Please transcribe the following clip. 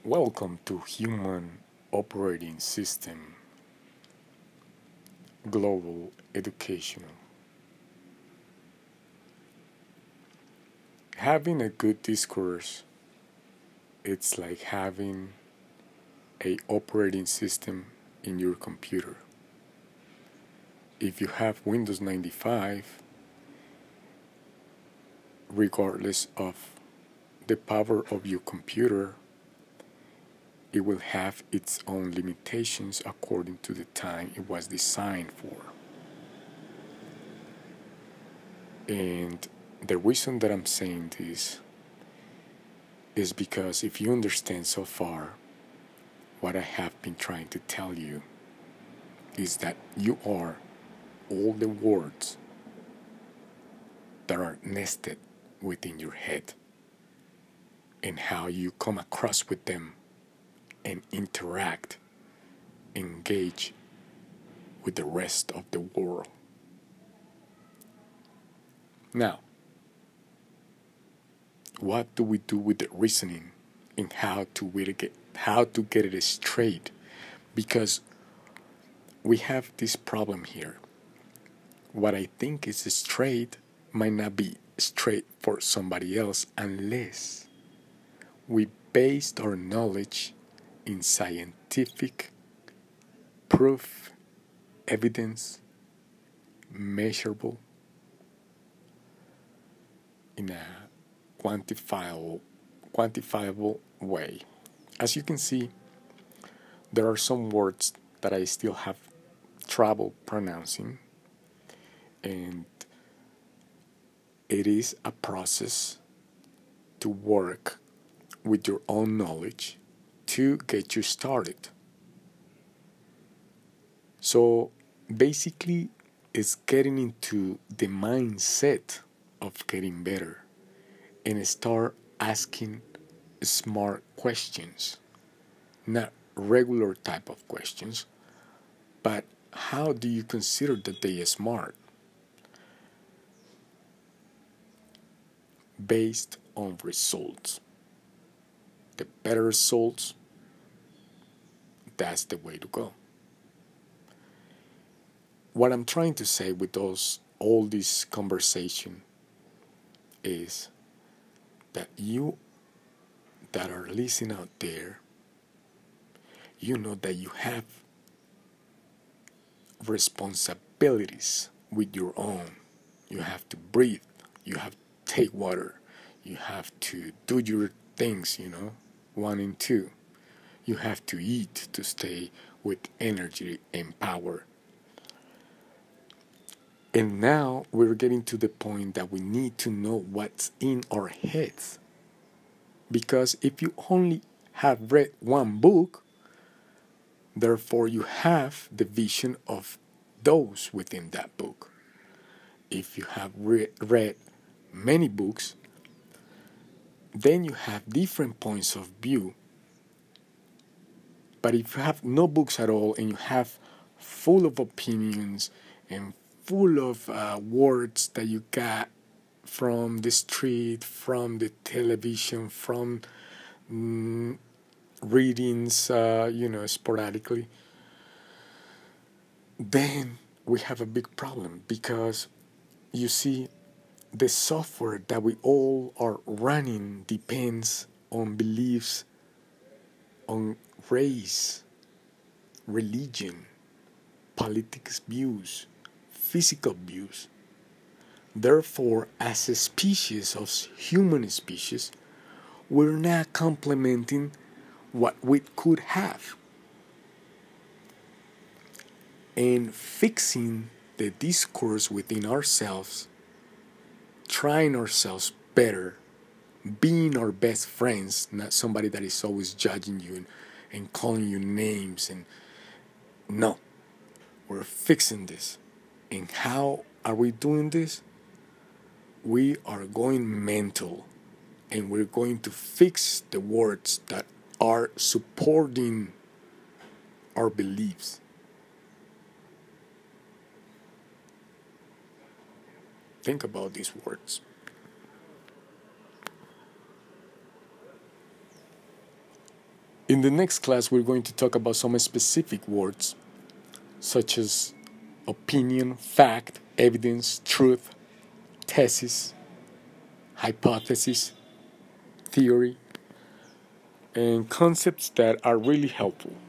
Welcome to Human Operating System Global Educational. Having a good discourse, it's like having a operating system in your computer. If you have Windows 95, regardless of the power of your computer, it will have its own limitations according to the time it was designed for. And the reason that I'm saying this is because if you understand so far what I have been trying to tell you is that you are all the words that are nested within your head and how you come across with them and interact, engage with the rest of the world. Now, what do we do with the reasoning and how to get it straight? Because we have this problem here. What I think is straight might not be straight for somebody else unless we based our knowledge in scientific proof, evidence, measurable, in a quantifiable way. As you can see, there are some words that I still have trouble pronouncing, and it is a process to work with your own knowledge to get you started. So basically, it's getting into the mindset of getting better and start asking smart questions, not regular type of questions, but how do you consider that they are smart? Based on results. The better results, that's the way to go. What I'm trying to say with all this conversation is that you that are listening out there, you know that you have responsibilities with your own. You have to breathe, you have to take water, you have to do your things, 1 and 2. You have to eat to stay with energy and power. And now we're getting to the point that we need to know what's in our heads. Because if you only have read one book, therefore you have the vision of those within that book. If you have read many books, then you have different points of view. But if you have no books at all and you have full of opinions and full of words that you got from the street, from the television, from readings, sporadically, then we have a big problem because you see, the software that we all are running depends on beliefs, on race, religion, politics views, physical views. Therefore, as a species, as human species, we're not complementing what we could have. And fixing the discourse within ourselves, trying ourselves better, being our best friends, not somebody that is always judging you and calling you names. And no, we're fixing this. And how are we doing this? We are going mental, and we're going to fix the words that are supporting our beliefs. Think about these words. In the next class, we're going to talk about some specific words, such as opinion, fact, evidence, truth, thesis, hypothesis, theory, and concepts that are really helpful.